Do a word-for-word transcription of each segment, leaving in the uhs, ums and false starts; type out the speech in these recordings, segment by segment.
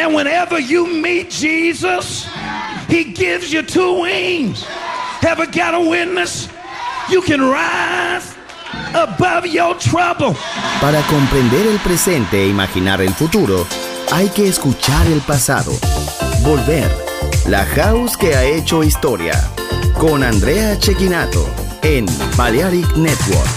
And whenever you meet Jesus, he gives you two wings. Ever got a witness? You can rise above your trouble. Para comprender el presente e imaginar el futuro, hay que escuchar el pasado. Volver. La House que ha hecho historia. Con Andrea Cecchinato en Balearic Network.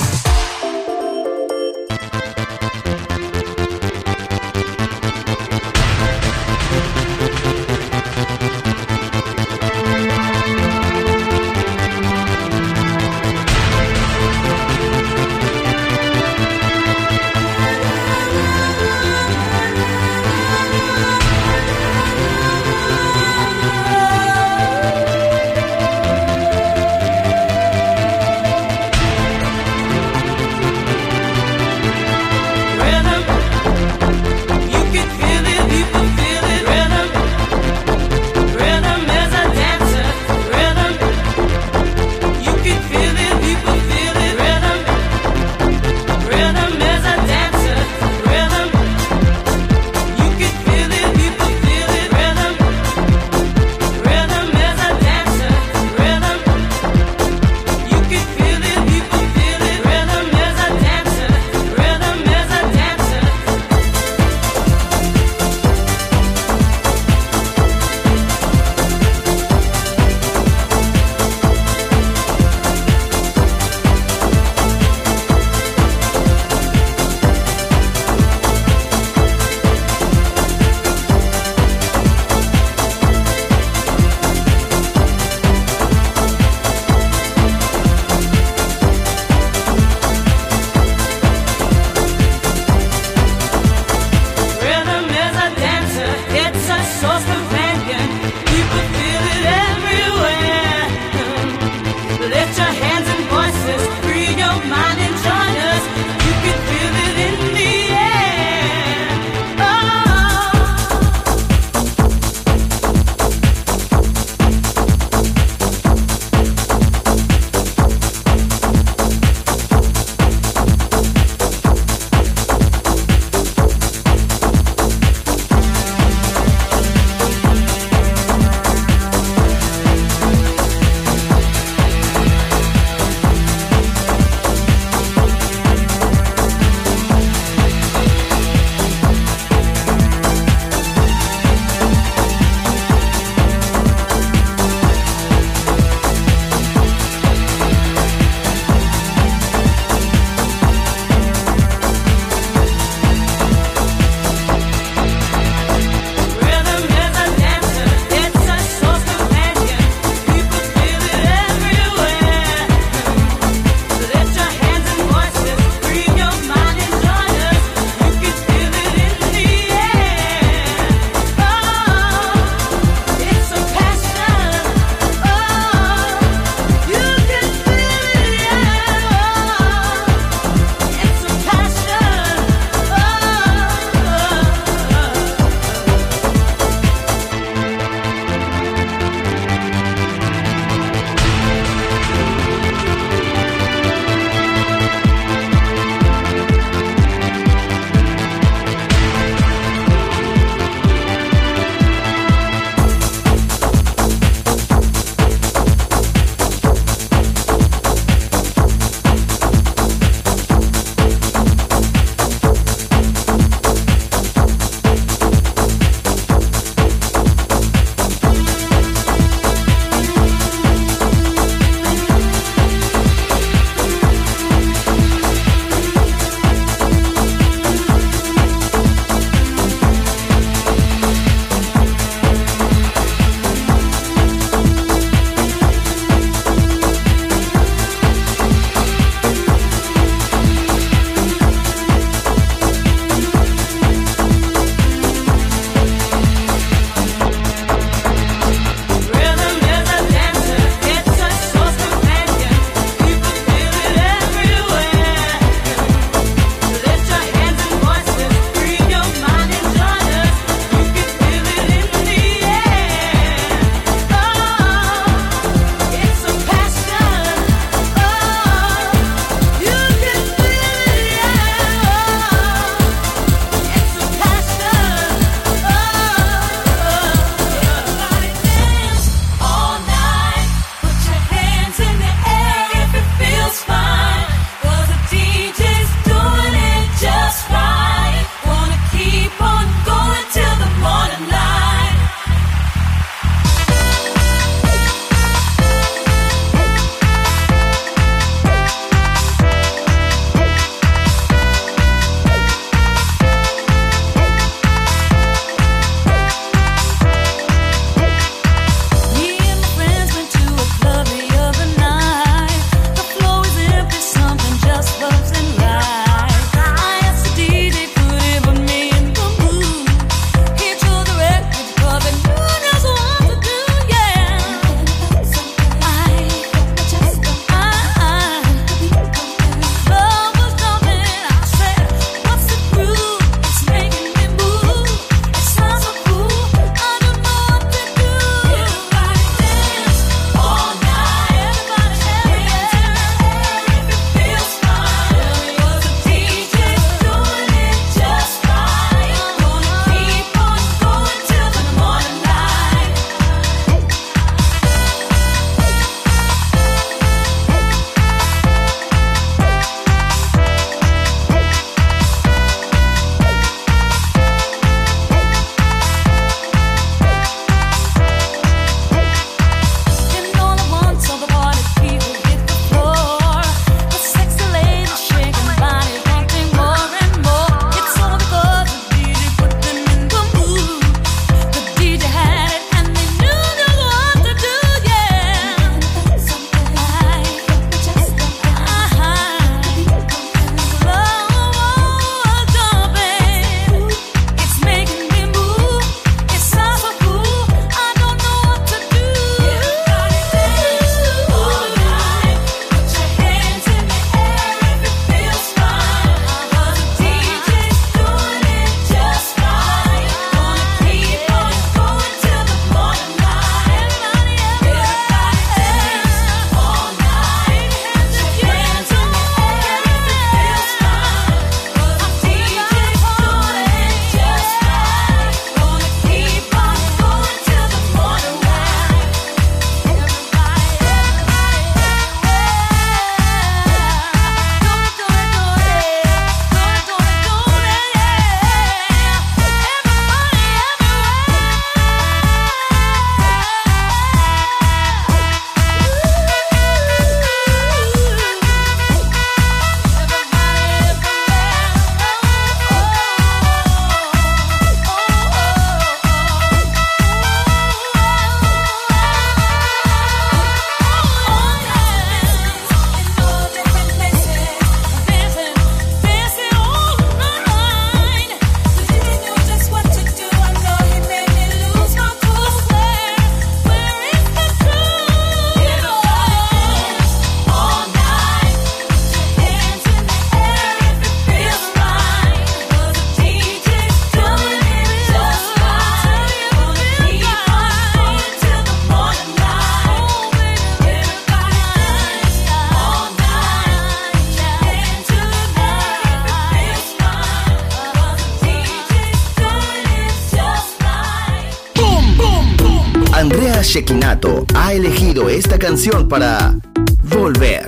Andrea Cecchinato ha elegido esta canción para Volver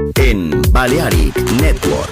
en Balearic Network.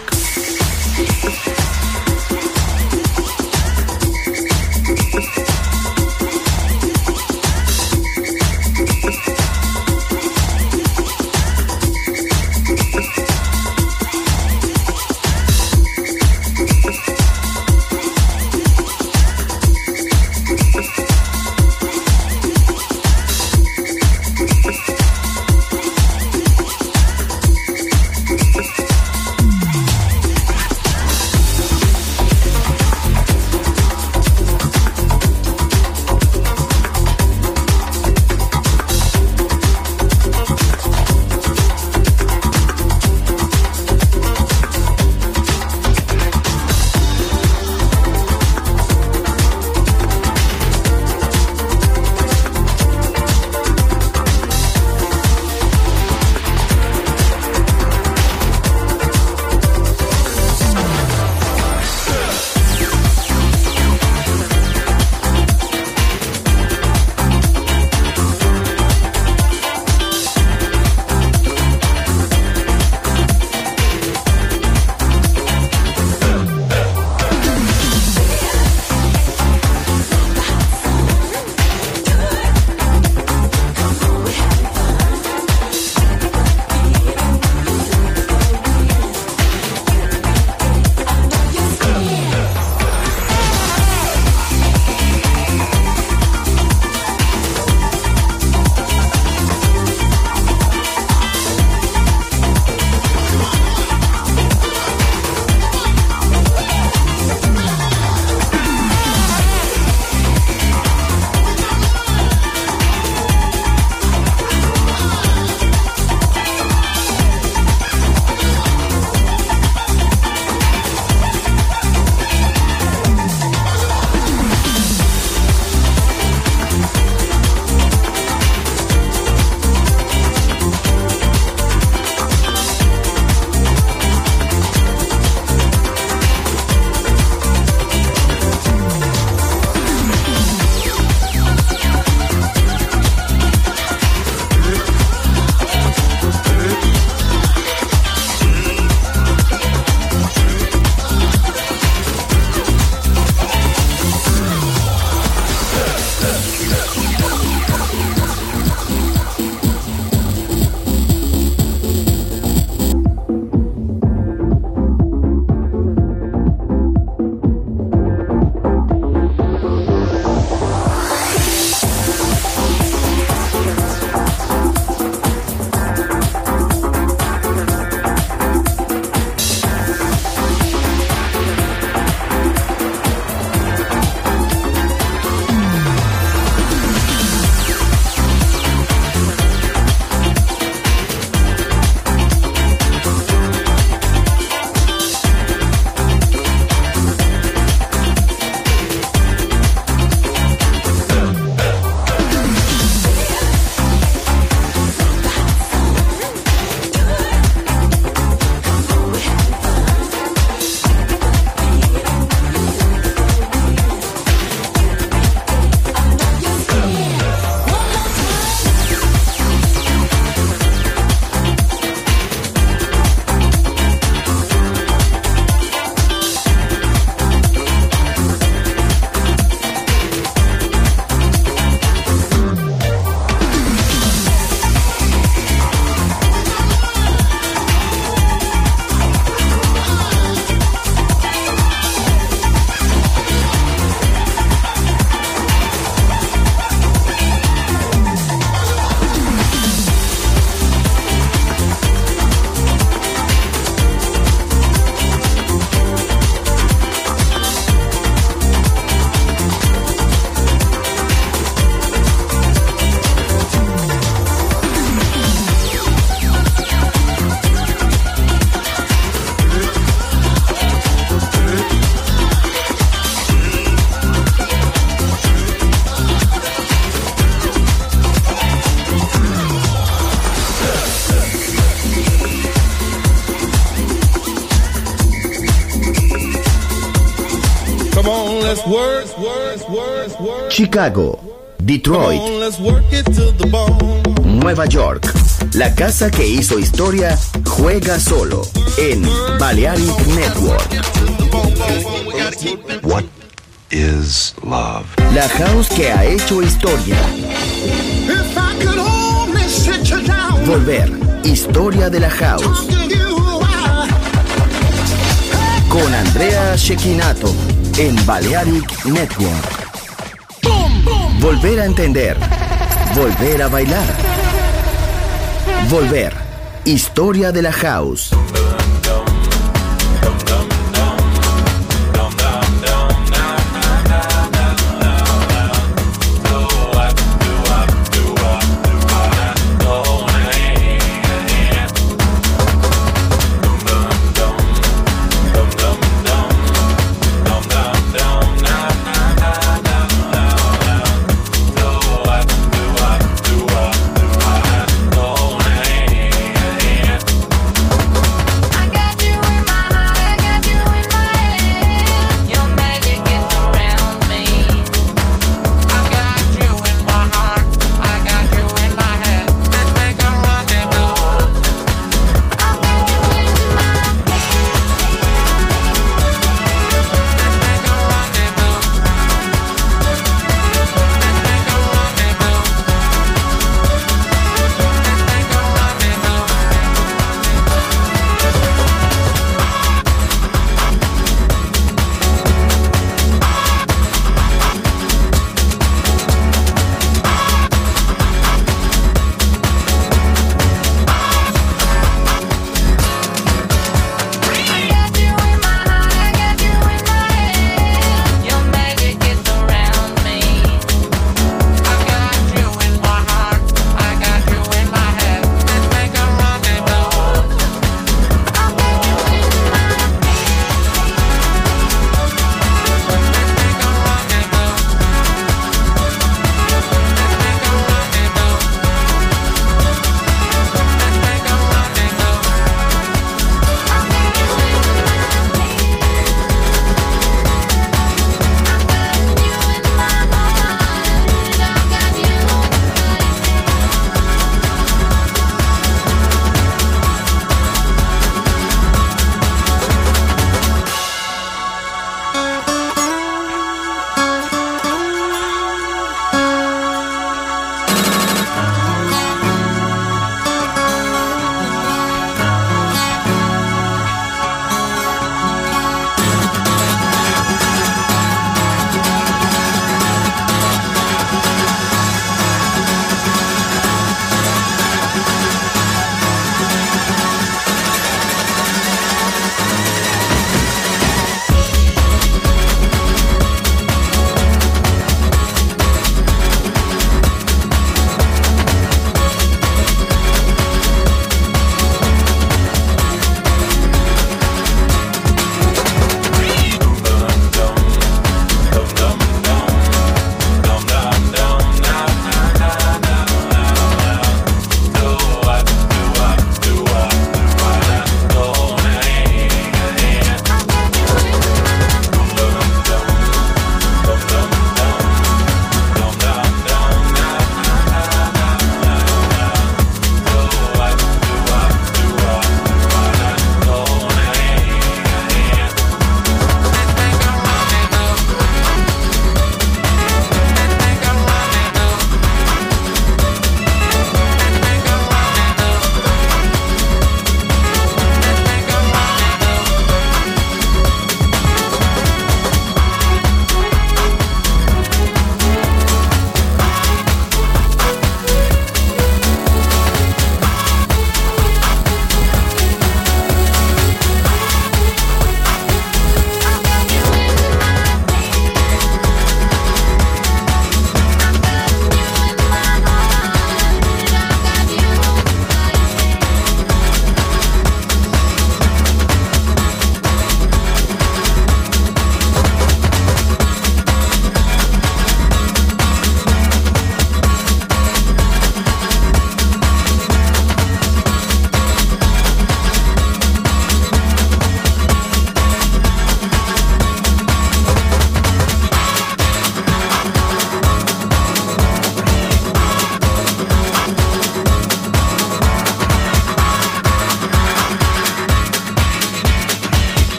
Chicago, Detroit, Nueva York. La casa que hizo historia juega solo en Balearic Network. What is love? La house que ha hecho historia. Volver, historia de la house. Con Andrea Cecchinato en Balearic Network. Volver a entender. Volver a bailar. Volver, historia de la house.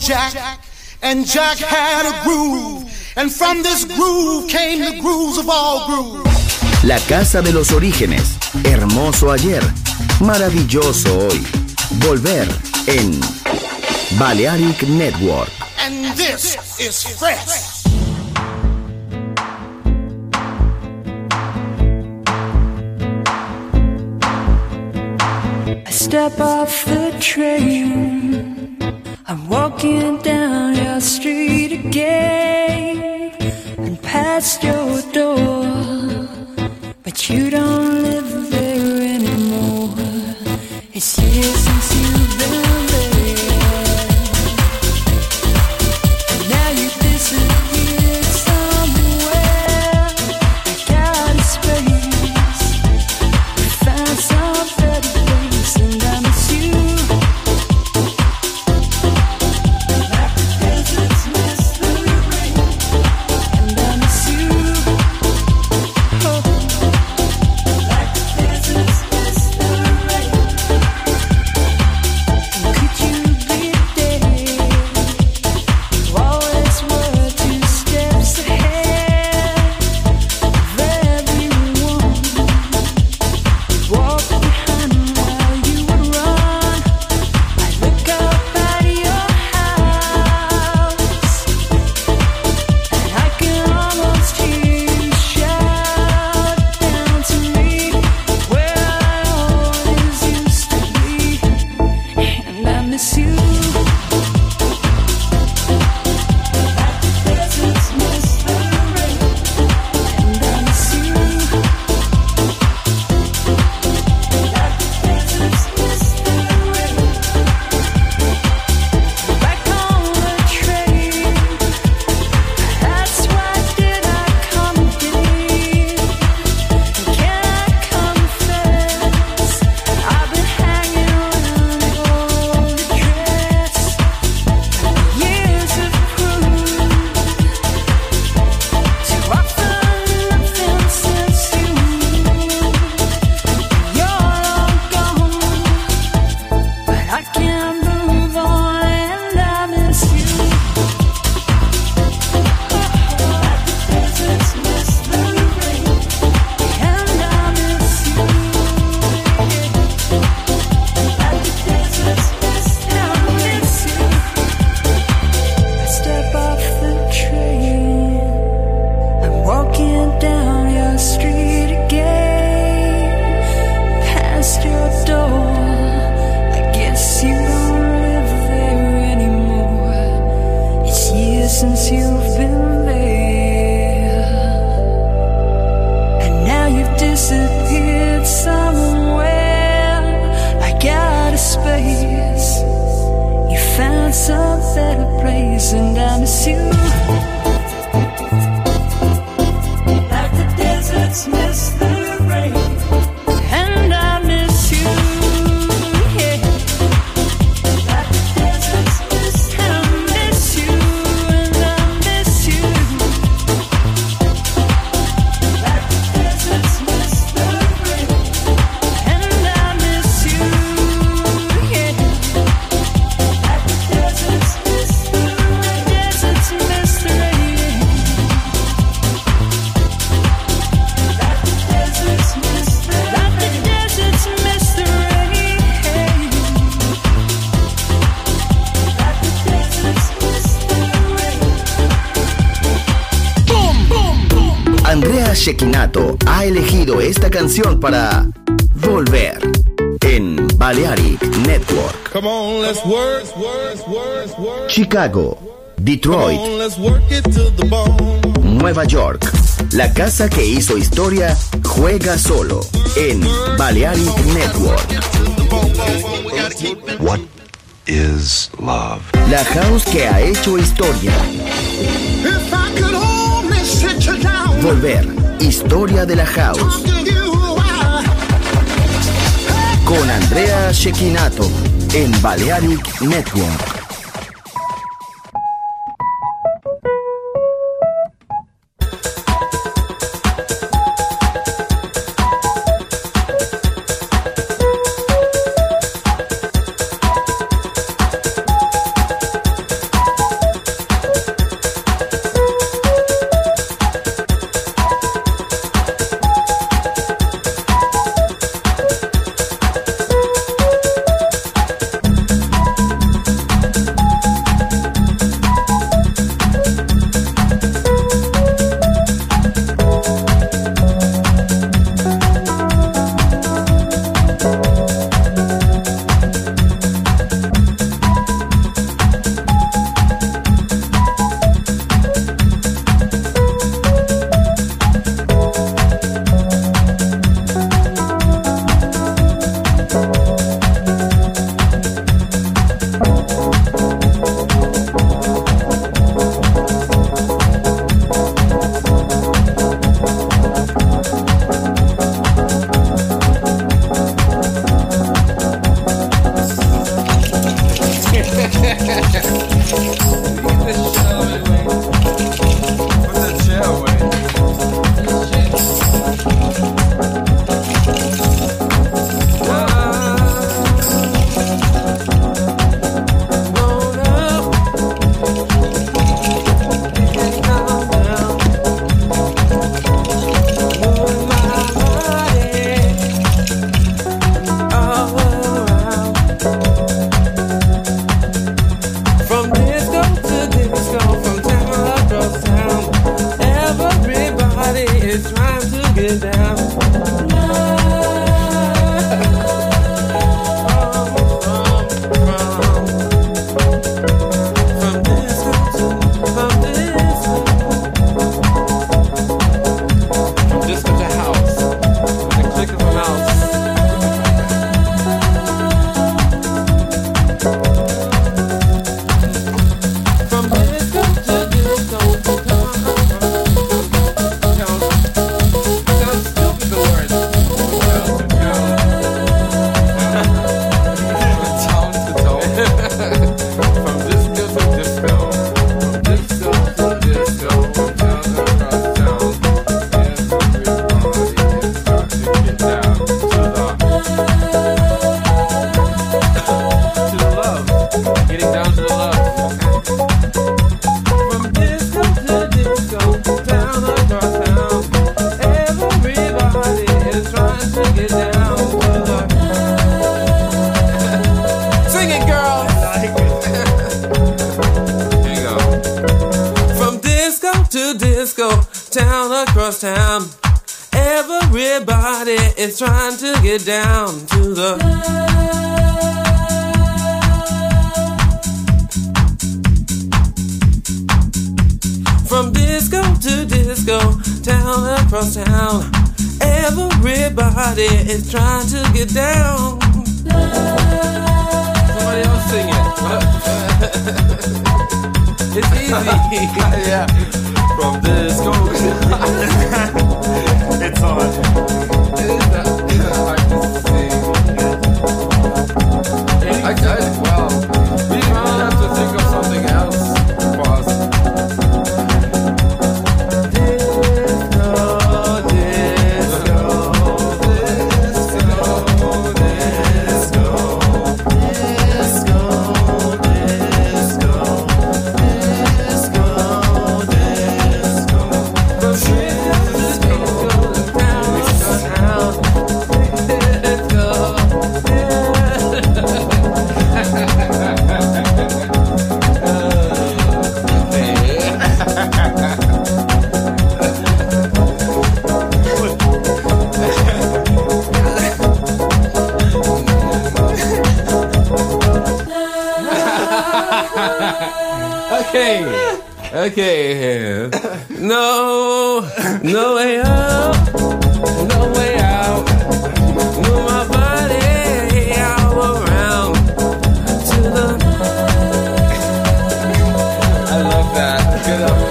Jack, and Jack had a groove, and from this groove came the grooves of all grooves. La casa de los orígenes, hermoso ayer, maravilloso hoy. Volver en Balearic Network. And this is fresh. I step off the train, I'm walking down your street again, and past your door, but you don't live there anymore. It's years since you've been there, and now you disappeared somewhere. I got a space, we found some better place, and I miss you. Like the deserts miss the rain, and I miss you. Oh. Like the deserts miss the rain. And could you be there? You always were two steps ahead of everyone. Walk behind while you would run. I look up at your house, and I can almost hear you shout down to me where I always used to be, and I miss you. Like the deserts miss the rain, and I miss you. Like the deserts miss the rain. Back on the train, that's why did I come here. Can I confess, I've been hanging around your dress. Years have proved to offer nothing since you. You're long gone, but I can't move on, and I miss you. Like the deserts miss the rain, and I miss you. Like the deserts miss the rain, I miss you. I step off the train, I'm walking down your street again, past your door. I guess you don't live there anymore. It's years since you've been there, and now you've disappeared somewhere. I got a space, you found some better place, and I miss you. Like the deserts miss the rain, and I miss you. Yeah. Like the deserts miss the rain, I miss you, and I miss you. Like the deserts miss the rain, and I miss you. Yeah. Like the deserts miss the rain, deserts miss the rain. Like the deserts miss the rain, like the deserts miss the rain. Like the deserts miss the rain. Boom, boom, boom. Andrea Cecchinato ha elegido esta canción para Volver en Balearic Network. Come on, let's work, work, work, work. Chicago, Detroit, Come on, let's work it to the bone. Nueva York. La casa que hizo historia juega solo en Balearic Network. What is love? La house que ha hecho historia. If I could only sit you down, Volver, historia de la house. talk to you a while. Con Andrea Cecchinato en Balearic Network. is trying to get down to the from disco to disco, town across town. Everybody is trying to get down. Somebody else sing it. It's easy. Yeah. From disco. It's on. It's not, it's not hard to sing. I, I, well, we might have to think of something else. Pause. Okay, okay. No, no way out, no way out. Move my body all around to the. I love that. Good up.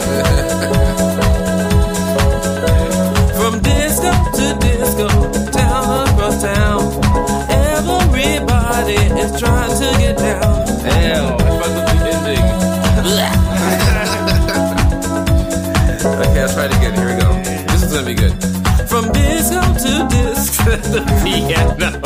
From disco to disco, town across town. Everybody is trying to get down. Hell, I fucked up the ending. Okay, I'll try it again. Here we go. This is gonna be good. From disco to disco to piano.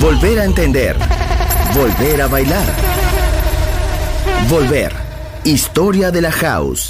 Volver a entender. Volver a bailar. Volver. Historia de la house.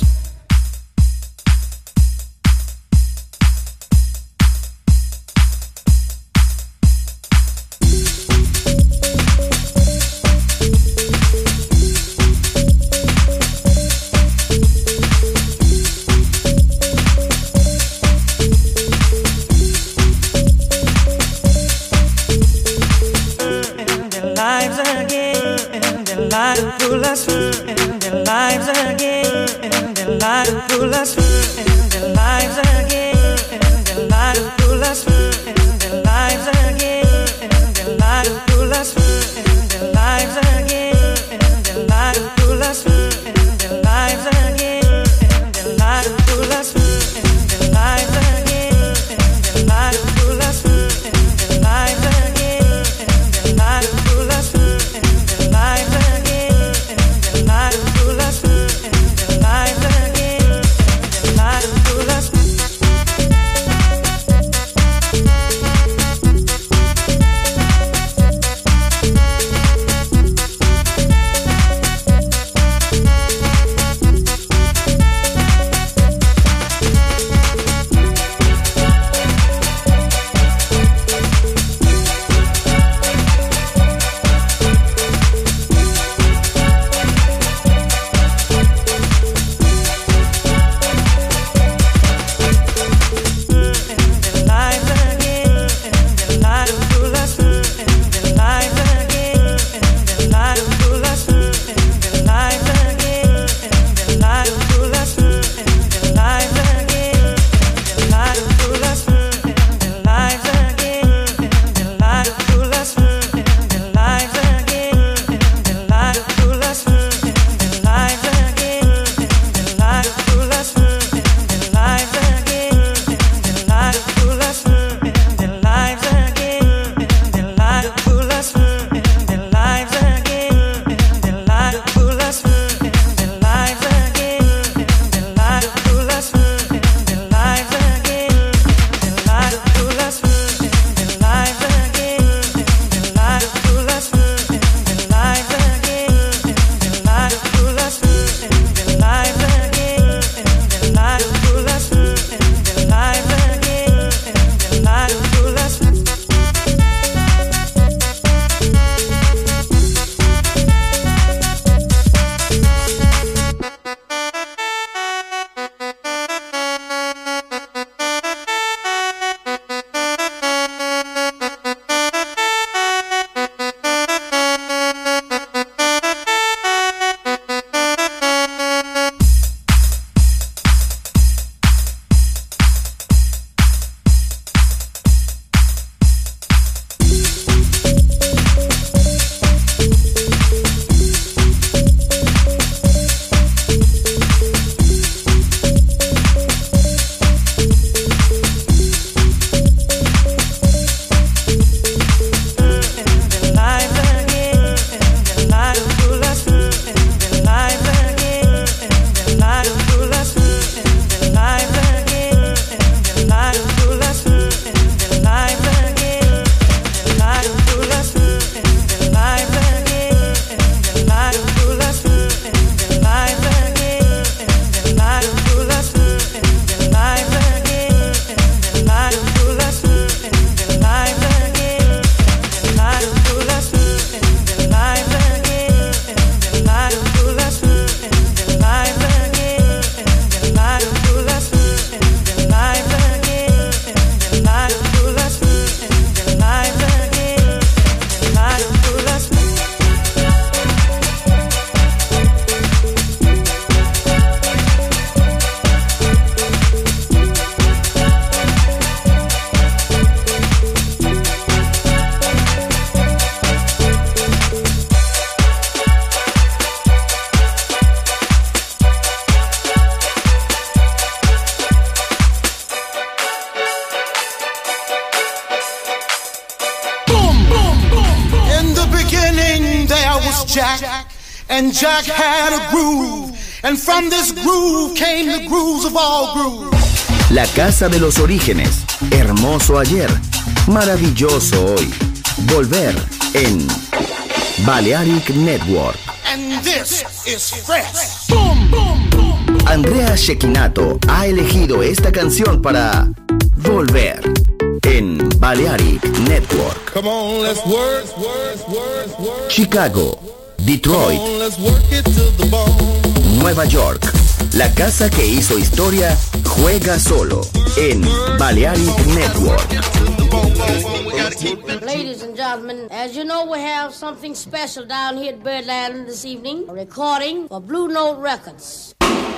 Jack, and Jack had a groove, and from this groove came the grooves of all grooves. La casa de los orígenes, hermoso ayer, maravilloso hoy. Volver en Balearic Network. And this is fresh. Boom, boom, boom. Andrea Cecchinato ha elegido esta canción para Volver en Balearic Network. Come on, let's work, work, work, work. Chicago, Detroit, Come on, let's work it to the bone. Nueva York. La casa que hizo historia juega solo en Balearic Network. Ladies and gentlemen, as you know, we have something special down here at Birdland this evening. A recording for Blue Note Records.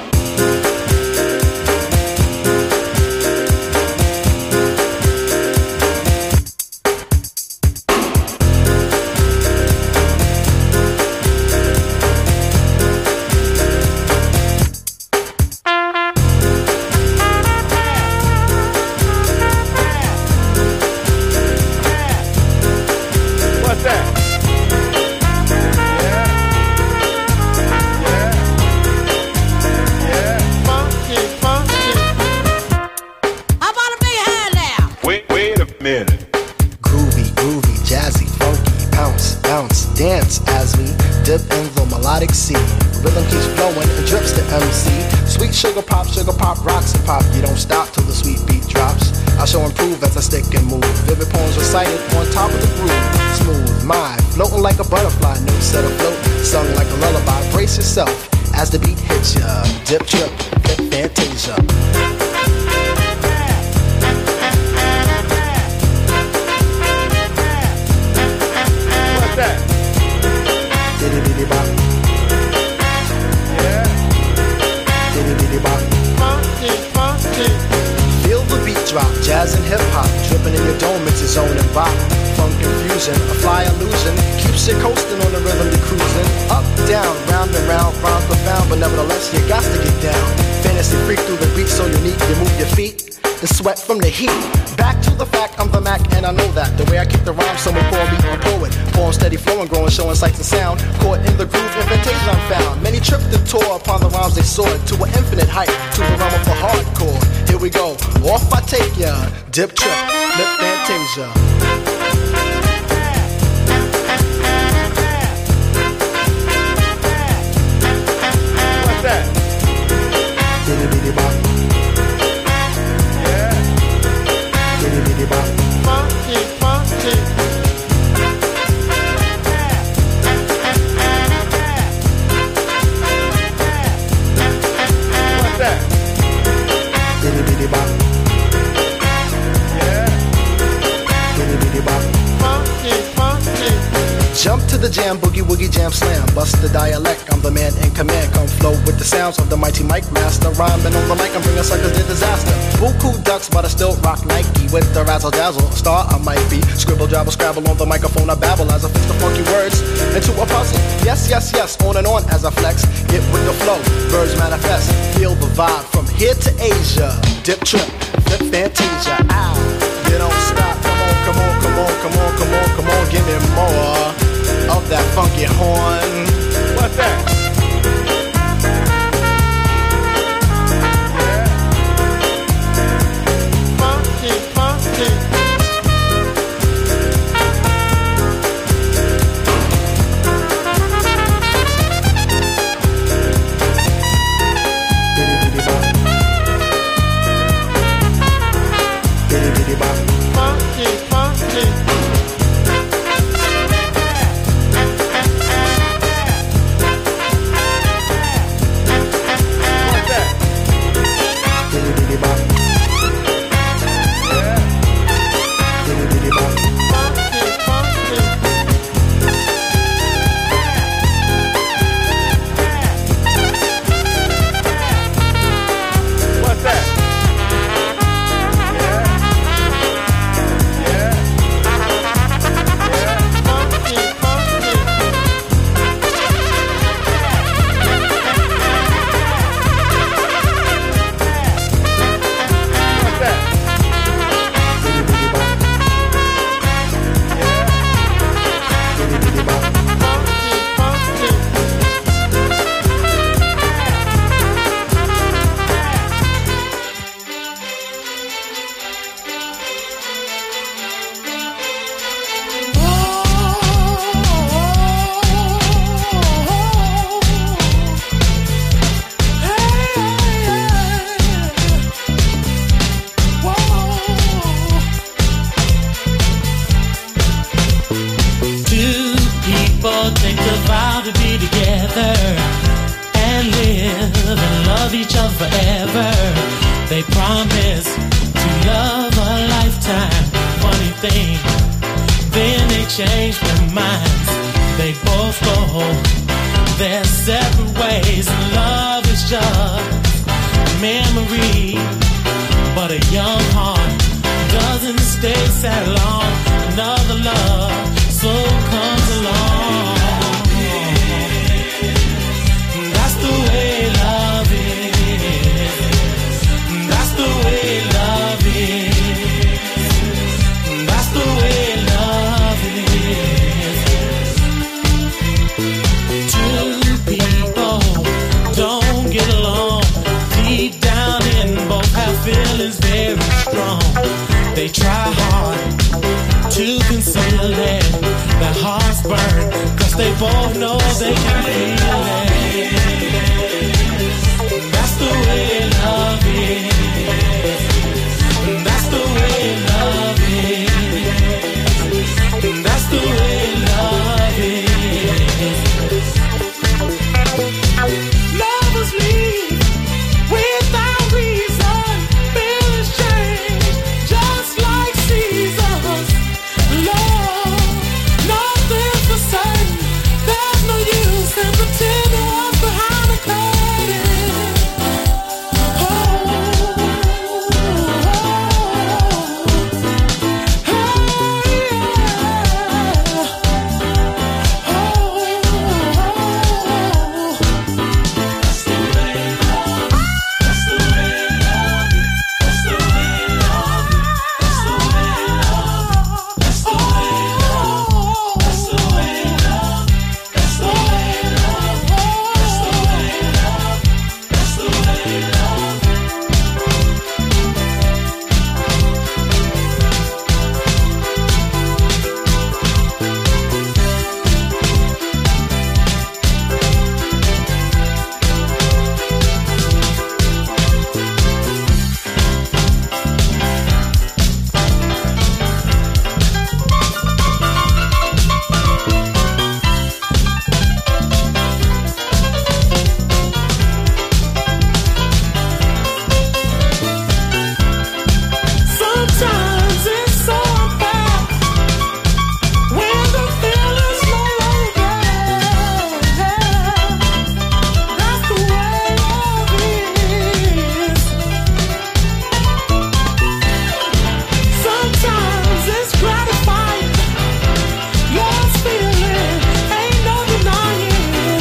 Sea. Rhythm keeps flowing and drips to M C. Sweet sugar pop, sugar pop, rocks and pop. You don't stop till the sweet beat drops. I shall improve as I stick and move. Vivid poems recited on top of the groove. Smooth mind, floating like a butterfly. Notes set afloat, sung like a lullaby. Brace yourself as the beat hits ya. Dip, trip, hip, fantasia. What's that? Diddy diddy bop. Funky, funky. Feel the beat drop, jazz and hip hop, dripping in your dome, it's your zone and bop. Funk confusion, a fly illusion, keeps you coasting on the rhythm you're cruising. Up, down, round and round, rhymes profound, but nevertheless you got to get down. Fantasy freak through the beat so unique, you move your feet, the sweat from the heat. Back to the fact, I'm the Mac and I know that. The way I kick the rhyme, someone call me a poet. Poem steady flowing, growing, showing sights and sound. Caught in the groove, invitation I'm found. Many tripped and tore upon the rhymes they soared to an infinite height, to the realm of the hardcore. Here we go, off I take ya. Dip, trip, lip, fantasia. What's that? Diddy diddy bop. Funky, funky. What's that? Diddy diddy bop. Yeah. Diddy diddy bop. Funky, funky. Jump to the jam, boogie woogie jam slam. Bust the dialect, I'm the man in command. Come flow with the sounds of the mighty mic master. Rhyming on the mic, I'm bringing suckers to disaster. Buku ducks, but I still rock Nike. With the razzle dazzle, star I might be. Scribble, jabble, scrabble on the microphone, I babble as I fix the funky words into a puzzle. Yes, yes, yes, on and on as I flex. Get with the flow, birds manifest. Feel the vibe from here to Asia. Dip, trip, flip, fantasia. Ow, you don't stop. Come on, come on, come on, come on, come on, come on, give me more of that funky horn. What's that? Yeah. Funky, funky. Diddy diddy bop. Diddy diddy bop. Funky, funky. people take a vow to be together and live and love each other forever. They promise to love a lifetime. Funny thing, then they change their minds. They both go their separate ways. Love is just a memory, but a young heart doesn't stay sad long. Another love soon comes along. That's the way love is. That's the way love is. That's the way love is. Two people don't get along. Deep down in both have feelings very strong. They try hard to conceal it. Their hearts burn, cause they both know they can feel it. That's the way love is. That's the way love is. That's the way love is. Lovers leave without reason. Feelings change just like seasons. Love, nothing's the same. There's no use in pretending what's behind the curtain. Oh, oh, oh, hey, yeah. Oh, that's the way love. That's the way love. That's the way love. That's the way love. That's the way love. That's the way love. That's the way love. That's the way love. That's the way love. Sometimes it's so unfair when the feeling's no longer there. That's the way love is. Sometimes it's gratifying. Love's feeling ain't no denying.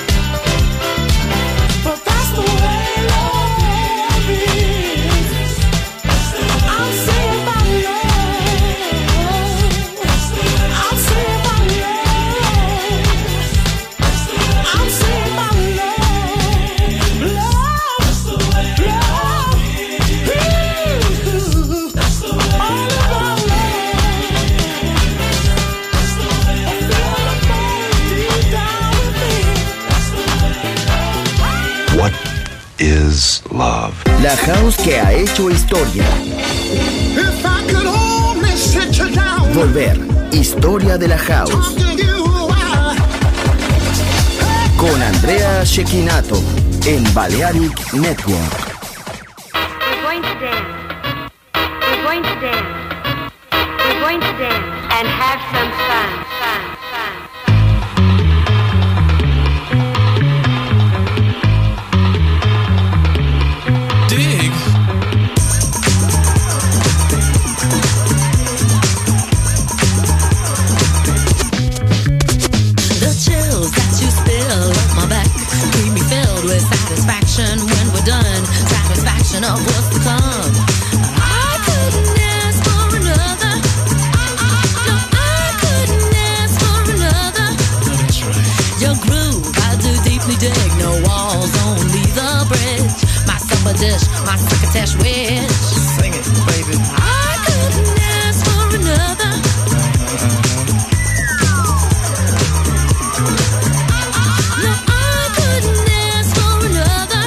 But that's the way love is. I'm saying my love. I'm saying my love. I'm saying my love. Love, love. Ooh. All about love. I feel the burn deep down within. What is love? La house que ha hecho historia. If I could only sit you down, Volver. Historia de la house. talk to you while Con Andrea Cecchinato en Balearic Network. We're going to dance. We're going to dance. We're going to dance and have some fun. Fun, fun. Dig. The chills that you spill up my back keep me filled with satisfaction when we're done. Satisfaction of what's to come. I couldn't ask for another. No, I couldn't ask for another. That's right. Your groove, I do deeply dig. No walls, only the bridge. My supper dish, my crocketesh wish. Sing it, baby. I couldn't ask for another. No, I couldn't ask for another.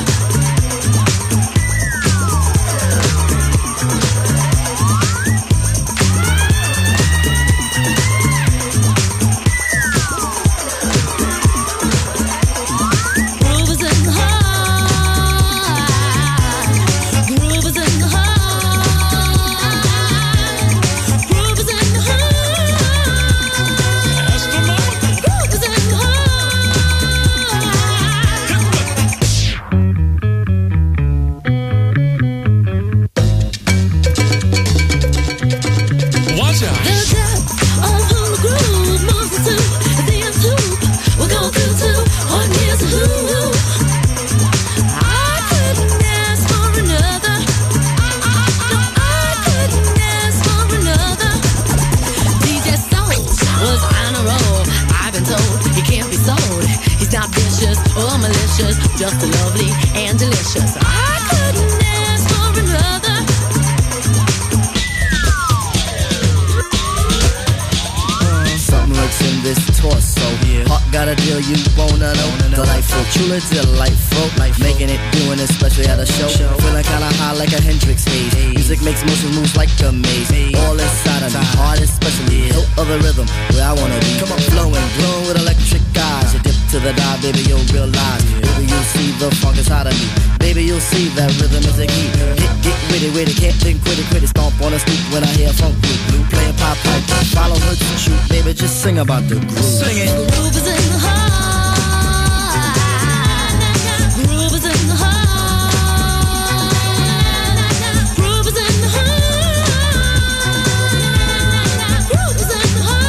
precious, just lovely and delicious. I couldn't ask for another. Something lurks in this torso. Yeah. Heart got a deal you wanna know. Delightful, truly delightful. Life making it, doing it, especially at a show. show. Feeling kinda high like a Hendrix haze. Hey. Music makes motion moves like a maze. Hey. All inside of me, heart especially. Yeah. No other rhythm where I wanna be. Come on, flowing, glowing with electric eyes. You dip to the dive, baby, you'll realize. Yeah. Baby, you'll see the funk inside of me. Baby, you'll see that rhythm is a key. Yeah. Get, get witty, witty, can't think, quit it, quit it. Stomp on the street when I hear funk blue, blue. Playing pop pipe, follow her to shoot. Baby, just sing about the groove. Sing it. The groove is in the heart. The groove is in the heart. Groove is in the heart. Groove is in the heart.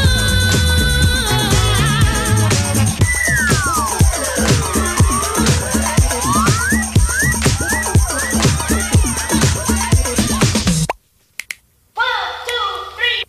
One, two, three.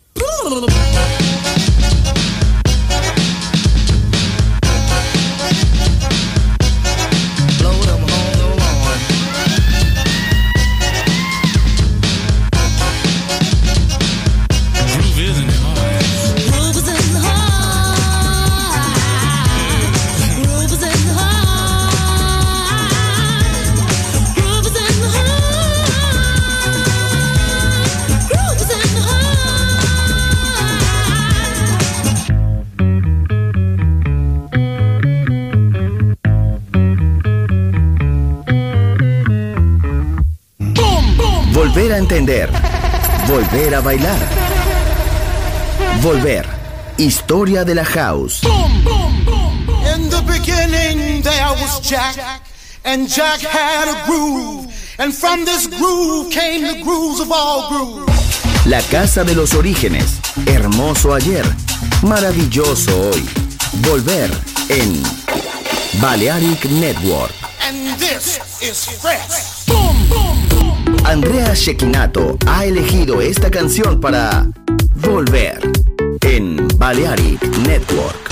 Volver a entender. Volver a bailar. Volver. Historia de la house. In the beginning there was Jack, and Jack had a groove, and from this groove came the grooves of all grooves. La casa de los orígenes. Hermoso ayer. Maravilloso hoy. Volver en Balearic Network. And this is fresh. Andrea Cecchinato ha elegido esta canción para Volver en Balearic Network.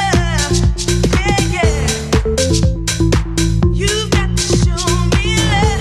You've got to show me love.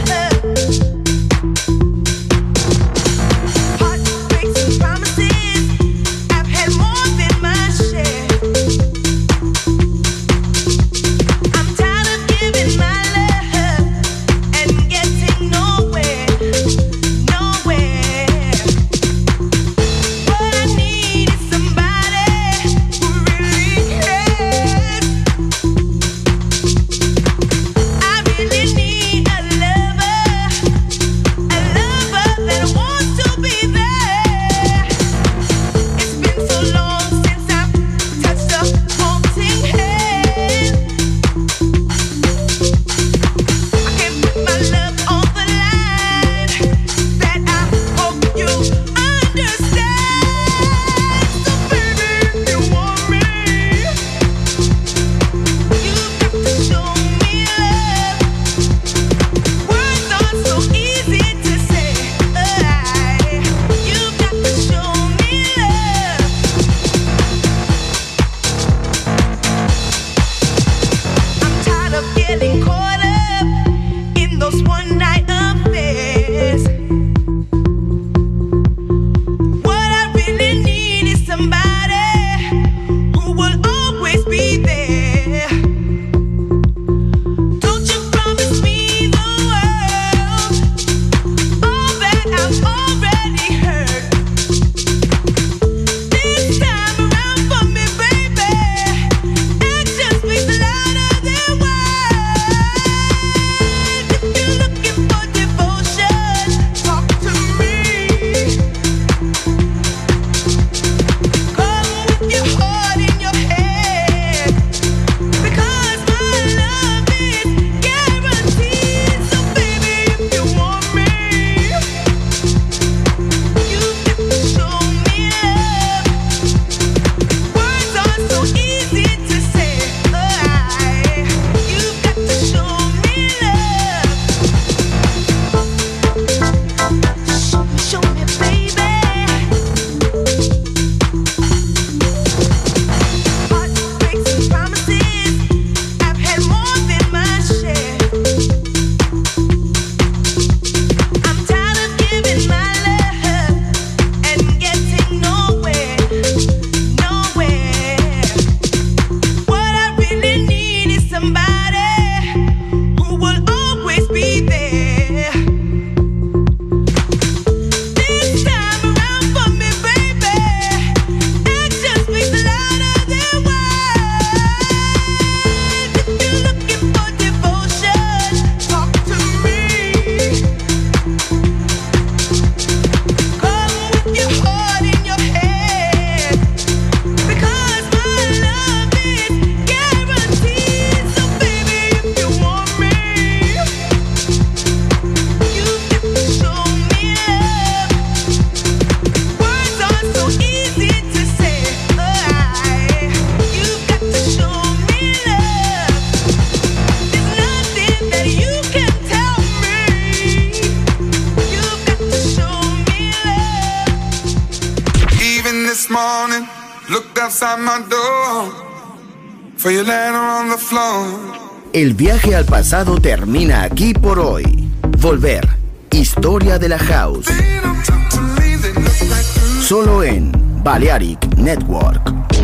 morning, looked outside my door for your letter on the floor. El viaje al pasado termina aquí por hoy. Volver. Historia de la House. Solo en Balearic Network.